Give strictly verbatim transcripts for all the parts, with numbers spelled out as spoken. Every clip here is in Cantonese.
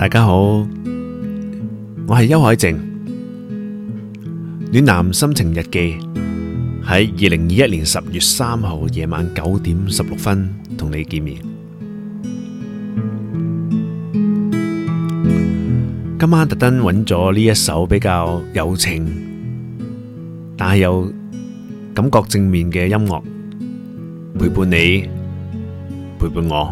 大家好，我係邱海靜，暖男心情日記喺二零二一年十月三號夜晚九點十六分同你見面。今晚特登揾咗呢一首比較柔情，但係又感覺正面嘅音樂，陪伴你，陪伴我。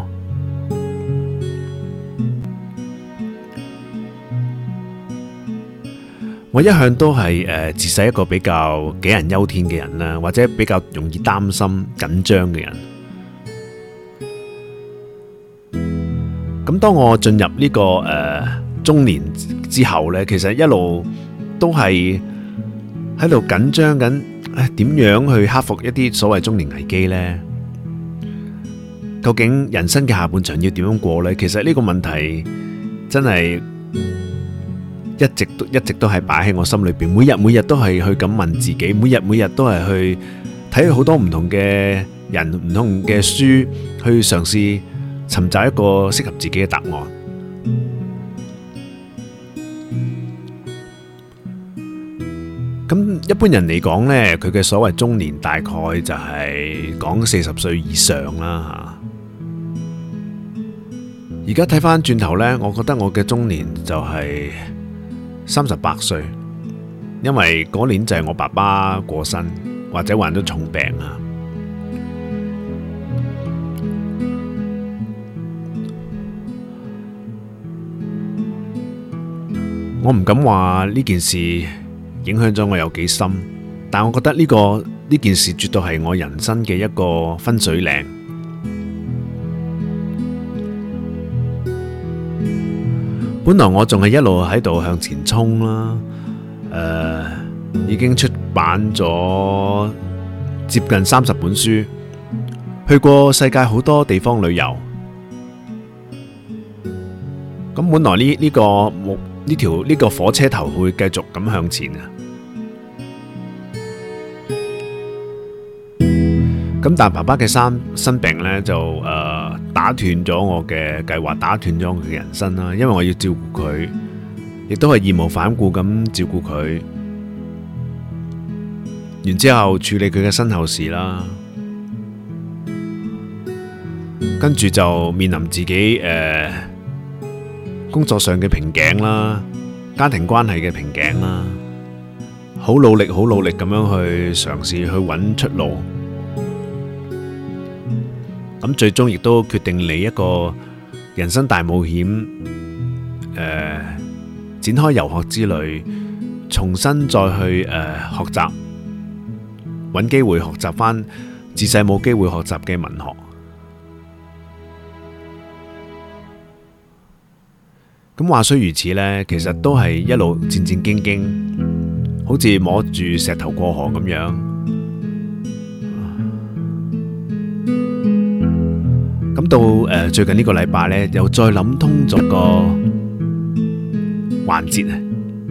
我一向都係誒自細一個比較杞人憂天嘅人啦，或者比較容易擔心緊張嘅人。咁當我進入呢、這個誒、呃、中年之後呢，其實一路都係喺度緊張緊，誒點樣去克服一啲所謂中年危機呢？究竟人生嘅下半場要點樣過呢？其實呢個問題真係一直都一直都係擺喺我心裏邊，每日每日都係去咁問自己，每日每日都係去睇好多唔同嘅人、唔同嘅書，去嘗試尋找一個適合自己嘅答案。咁一般人嚟講呢，佢嘅所謂中年大概就係講四十歲以上啦吓。而家睇翻轉頭呢，我覺得我嘅中年就係三十八歲，因為嗰年就係我爸爸過身，或者患咗重病啊。我唔敢話呢件事影響咗我有幾深，但我覺得呢個呢件事絕對係我人生嘅一個分水嶺。本來我仲係一路喺度向前衝啦，誒、呃，已經出版咗接近三十本書，去過世界好多地方旅遊。咁本來呢呢個目呢條呢個火車頭會繼續咁向前啊。咁但爸爸嘅生生病呢，就誒、呃、打斷咗我嘅計劃，打斷咗我嘅人生啦。因為我要照顧佢，亦都係義無反顧咁照顧佢。然之後處理佢嘅身後事啦，跟住就面臨自己誒、呃、工作上嘅瓶頸啦，家庭關係嘅瓶頸啦，好努力好努力咁樣去嘗試去揾出路。咁最終亦都決定嚟一個人生大冒險，誒、呃，展開遊學之旅，重新再去誒、呃、學習，揾機會學習返自細冇機會學習嘅文學。咁話雖如此呢，其實都係一路戰戰兢兢，好似摸住石頭過河咁樣。咁到誒最近呢個禮拜呢，又再諗通咗個環節啊！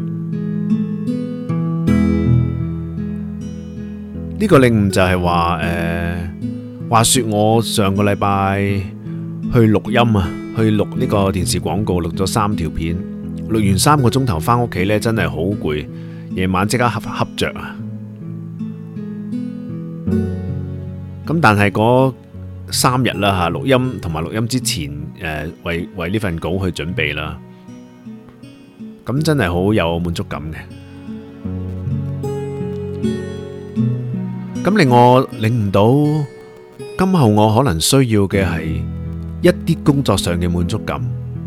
呢個領悟就係話誒，話說我上個禮拜去錄音啊，去錄呢個電視廣告，錄咗三條片，錄完三個鐘頭翻屋企呢，真係好攰，夜晚即刻瞌瞌着啊！咁但係嗰三日啦吓，錄音同埋錄音之前，誒為為呢份稿去準備啦，咁真係好有滿足感嘅。咁令我領悟到，今後我可能需要嘅係一啲工作上嘅滿足感。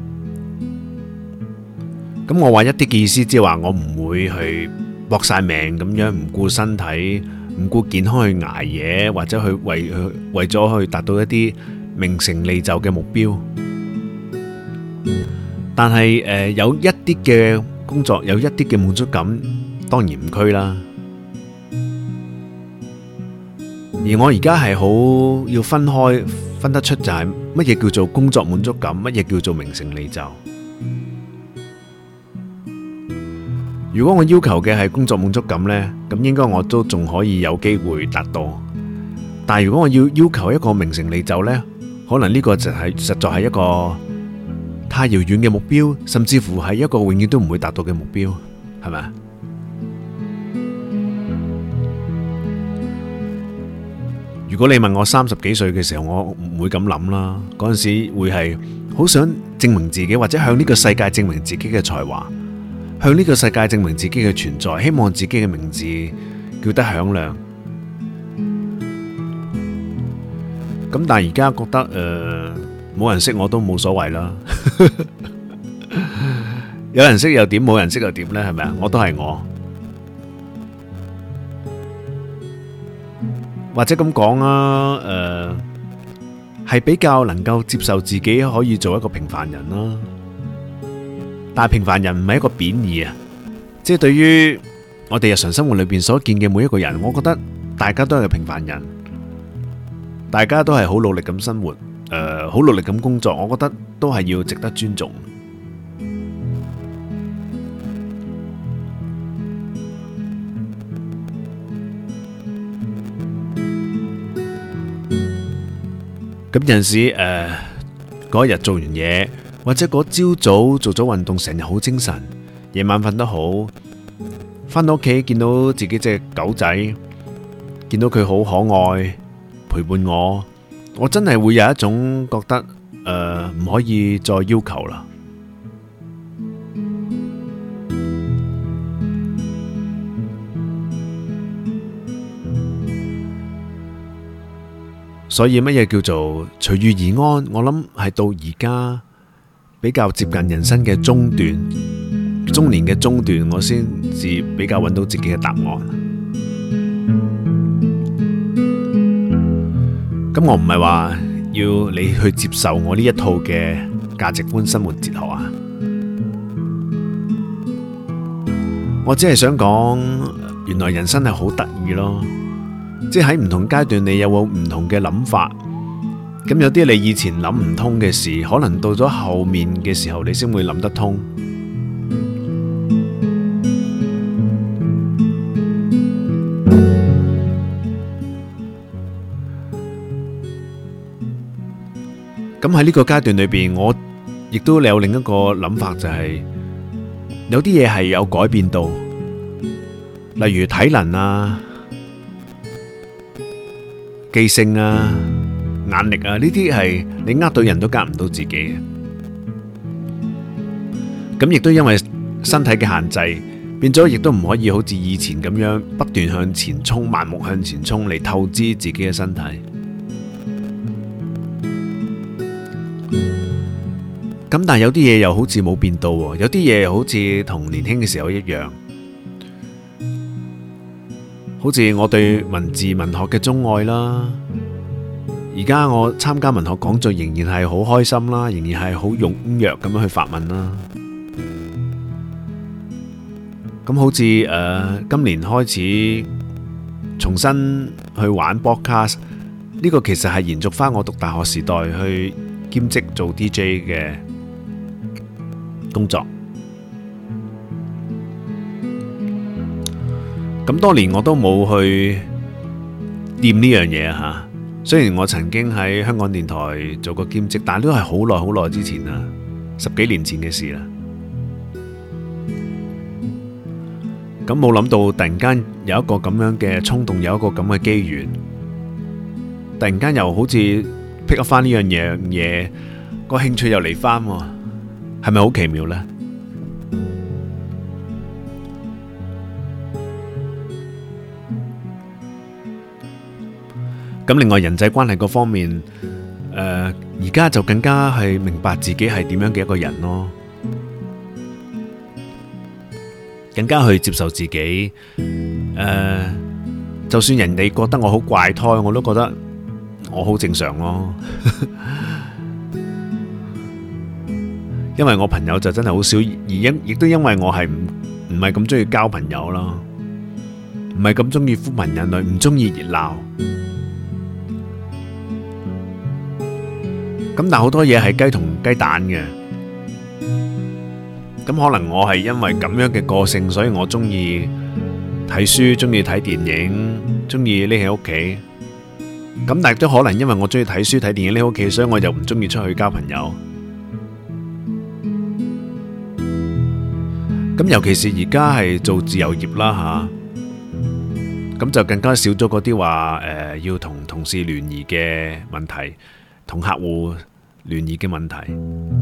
咁我話一啲嘅意思，即係話我唔會去搏晒命咁樣，唔顧身體，唔顧健康去捱夜，或者去為去為咗去達到一啲名成利就嘅目標。但係誒、呃、有一啲嘅工作，有一啲嘅滿足感，當然唔拘啦。而我而家係好要分開，分得出就係乜嘢叫做工作滿足感，乜嘢叫做名成利就。如果我要求嘅係工作滿足感呢，咁應該我都仲可以有機會達到。但係如果我要要求一個名成利就呢，可能呢個就係實在係一個太遙遠嘅目標，甚至乎係一個永遠都唔會達到嘅目標，係咪？如果你問我三十幾歲嘅時候，我唔會咁諗啦。嗰陣時會係好想證明自己，或者向呢個世界證明自己嘅才華，向呢個世界證明自己嘅存在，希望自己嘅名字叫得響亮。咁但係而家覺得誒，冇人識我都冇所謂啦。有人識又點，冇人識又點呢？係咪啊？我都係我。或者咁講啊，誒，係比較能夠接受自己可以做一個平凡人啦。但係平凡人唔係一個貶義啊，即係對於我哋日常生活裏邊所見嘅每一個人，我覺得大家都係平凡人，大家都係好努力咁生活，誒，好努力咁工作，我覺得都係要值得尊重。咁有陣時誒，嗰日做完嘢，或者嗰朝早做咗運動，成日好精神，夜晚瞓得好，返到屋企見到自己隻狗仔，見到佢好可愛，陪伴我，我真係會有一種覺得誒，唔可以再要求啦。所以乜嘢叫做隨遇而安？我諗係到而家比較接近人生嘅中段，中年嘅中段，我先至比較揾到自己嘅答案。咁我唔係話要你去接受我呢一套嘅價值觀、生活哲學啊，我只係想講，原來人生係好得意咯。即係喺唔同階段，你有冇唔同嘅諗法？咁有啲你以前諗唔通嘅事，可能到咗後面嘅時候，你先會諗得通。咁喺呢個階段裏邊，我亦都有另一個諗法，就係有啲嘢係有改變到，例如體能啊、記性啊、眼力啊，呢啲係你呃到人都呃唔到自己嘅。咁亦都因為身體嘅限制，變咗亦都唔可以好似以前咁樣不斷向前衝、盲目向前衝嚟透支自己嘅身體。咁但係有啲嘢又好似冇變到，有啲嘢好似同年輕嘅時候一樣。好似我對文字文學嘅鍾愛啦，而家我參加文學講座仍然係好開心啦，仍然係好踴躍咁樣去發問啦。咁好似誒、呃、今年開始重新去玩 podcast， 呢個其實係延續翻我讀大學時代去兼職做 D J 嘅工作。咁多年我都冇去掂呢樣嘢吓，雖然我曾經喺香港電台做過兼職，但係都係好耐好耐之前啦，十幾年前嘅事啦。咁冇諗到突然間有一個咁樣嘅衝動，有一個咁嘅機緣，突然間又好似 pick up 翻呢樣嘢嘢，個興趣又嚟翻，係咪好奇妙呢？咁另外人際關係嗰方面，誒而家就更加係明白自己係點樣嘅一個人咯，更加去接受自己。誒，就算人哋覺得我好怪胎，我都覺得我好正常咯。因為我朋友就真係好少，而因亦都因為我係唔唔係咁中意交朋友咯，唔係咁中意呼朋引伴，唔中意熱鬧。咁但好多嘢係雞同雞蛋嘅，咁可能我係因為咁樣嘅個性，所以我中意睇書，中意睇電影，中意匿喺屋企。咁但係都可能因為我中意睇書睇電影匿喺屋企，所以我就唔中意出去交朋友。 咁尤其是而家係做自由業啦吓，咁就更加少咗嗰啲話誒要同同事聯誼嘅問題，同客戶聯誼嘅問題。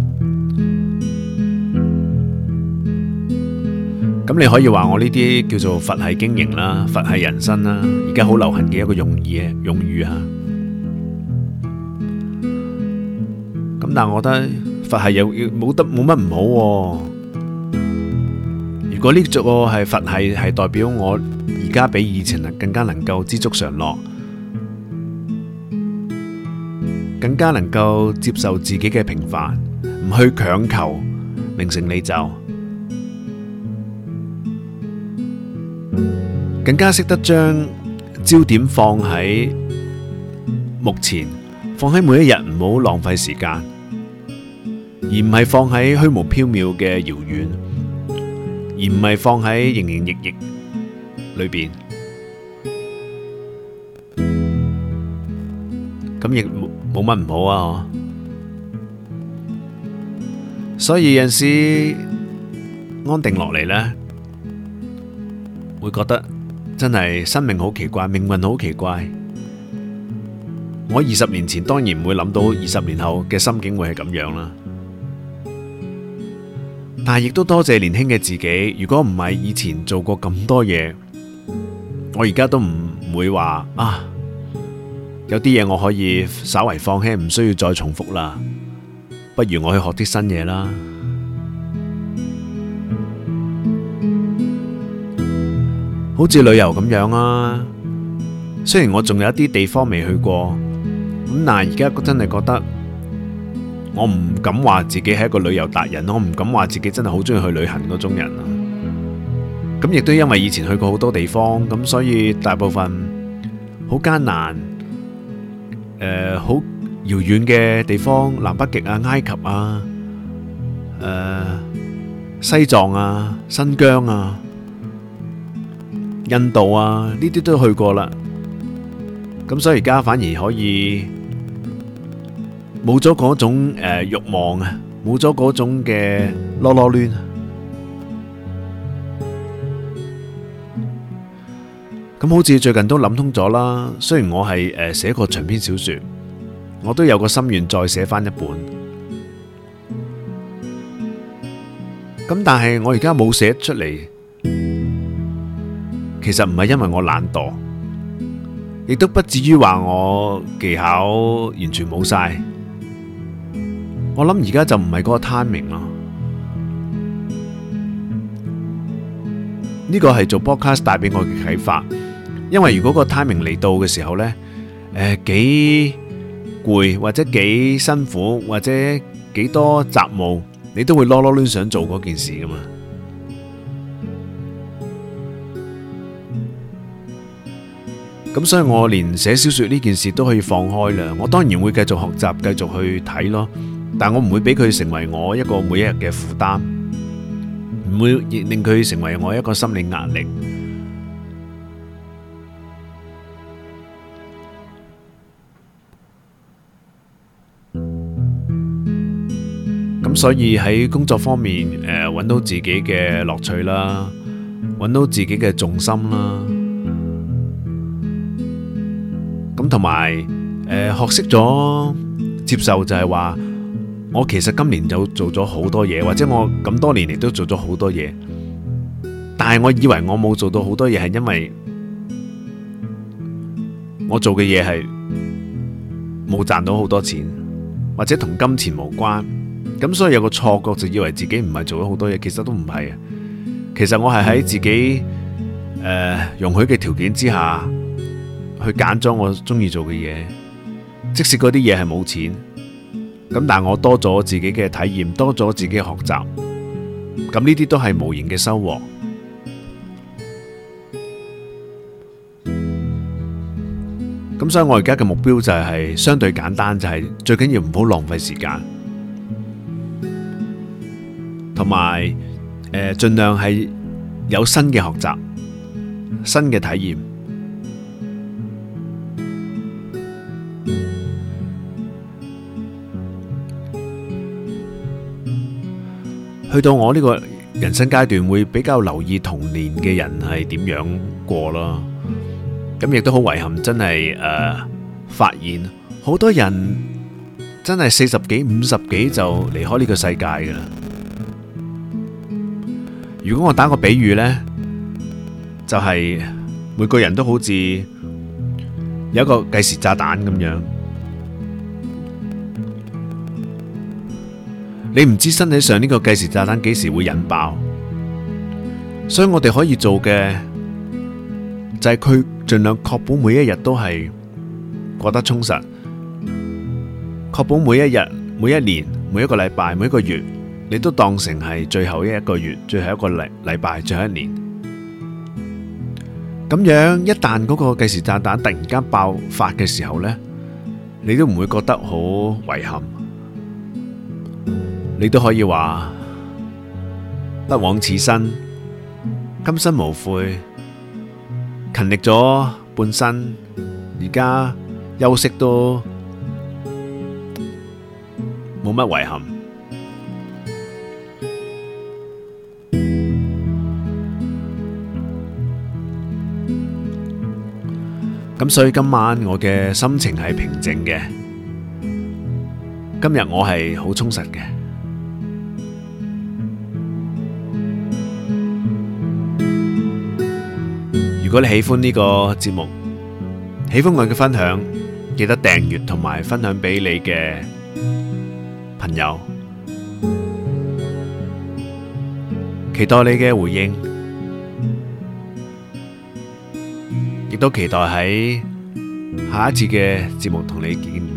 咁你可以話我呢啲叫做佛系經營啦，佛系人生啦，而家好流行嘅一個用語嘅用語啊。咁但係我覺得佛系又冇得冇乜唔好。如果呢個係佛系，係代表我而家比以前更加能夠知足常樂，更加能夠接受自己嘅平凡，唔去強求名成利就。更加識得將焦點放喺目前，放喺每一日，唔好浪費時間，而唔係放喺虛無縹緲嘅遙遠，而唔係放喺營營役役裏邊。咁亦冇乜唔好啊！所以有陣時安定落嚟呢，會覺得真係生命好奇怪，命運好奇怪。我二十年前當然唔會諗到二十年後嘅心境會係咁樣啦，但係亦都多謝年輕嘅自己。如果唔係以前做過咁多嘢，我而家都唔會話啊，有啲嘢我可以稍為放棄，唔需要再重複啦。不如我去學啲新嘢啦。好似旅遊咁樣啊，雖然我仲有一啲地方未去過，咁但係而家真係覺得我唔敢話自己係一個旅遊達人，我唔敢話自己真係好中意去旅行嗰種人啊。咁亦都因為以前去過好多地方，咁所以大部分好艱難，誒好遙遠嘅地方，南北極啊、埃及啊、誒西藏啊、新疆啊、印度啊，呢啲都去過啦。咁所以而家反而可以冇咗嗰種誒慾望啊，冇咗嗰種嘅囉囉攣。咁好似最近都諗通咗啦。雖然我係誒寫過長篇小說，我都有個心願再寫翻一本。咁但係我而家冇寫出嚟，其實唔係因為我懶惰，亦都不至於話我技巧完全冇晒。我諗而家就唔係嗰個 timing 咯。呢個係做 podcast 帶俾我嘅啟發。因為如果個 timing 嚟到嘅時候呢，誒幾攰或者幾辛苦或者幾多雜務，你都會囉囉攣想做嗰件事噶嘛。咁所以我連寫小說呢件事都可以放開啦。我當然會繼續學習，繼續去睇咯，但我唔會俾佢成為我一個每一日嘅負擔，唔會令佢成為我一個心理壓力。咁所以喺工作方面，誒揾到自己嘅樂趣啦，揾到自己嘅重心啦。咁同埋誒學識咗接受，就係話我其實今年就做咗好多嘢，或者我咁多年嚟都做咗好多嘢，但係我以為我冇做到好多嘢，係因為我做嘅嘢係冇賺到好多錢，或者同金錢無關。咁所以有個錯覺，就以為自己唔係做咗好多嘢，其實都唔係啊。其實我係喺自己誒容許嘅條件之下，去揀咗我中意做嘅嘢，即使嗰啲嘢係冇錢，咁但係我多咗自己嘅體驗，多咗自己嘅學習，咁呢啲都係無形嘅收穫。咁所以我而家嘅目標就係相對簡單，就係最緊要唔好浪費時間，同埋誒盡量係有新嘅學習、新嘅體驗。去到我呢個人生階段會比較留意童年嘅人係點樣過咯。咁亦都好遺憾，真係誒、呃、發現好多人真係四十幾、五十幾就離開呢個世界噶啦。如果我打個比喻呢，就係、是、每個人都好似有一個計時炸彈咁樣，你唔知身體上呢個計時炸彈幾時會引爆，所以我哋可以做嘅就係佢盡量確保每一日都係過得充實，確保每一日、每一年、每一個禮拜、每一個月，你都當成係最後一個月、最後一個禮禮拜、最後一年。咁樣一旦嗰個計時炸彈突然間爆發嘅時候呢，你都唔會覺得好遺憾，你都可以話不枉此生，今生無悔，勤力咗半生，而家休息都冇乜遺憾。咁所以今晚我嘅心情係平靜嘅，今日我係好充實嘅。如果你喜歡呢個節目，喜歡我嘅分享，記得訂閱同埋分享俾你嘅朋友，期待你嘅回應。亦都期待喺下一次嘅節目同你見面。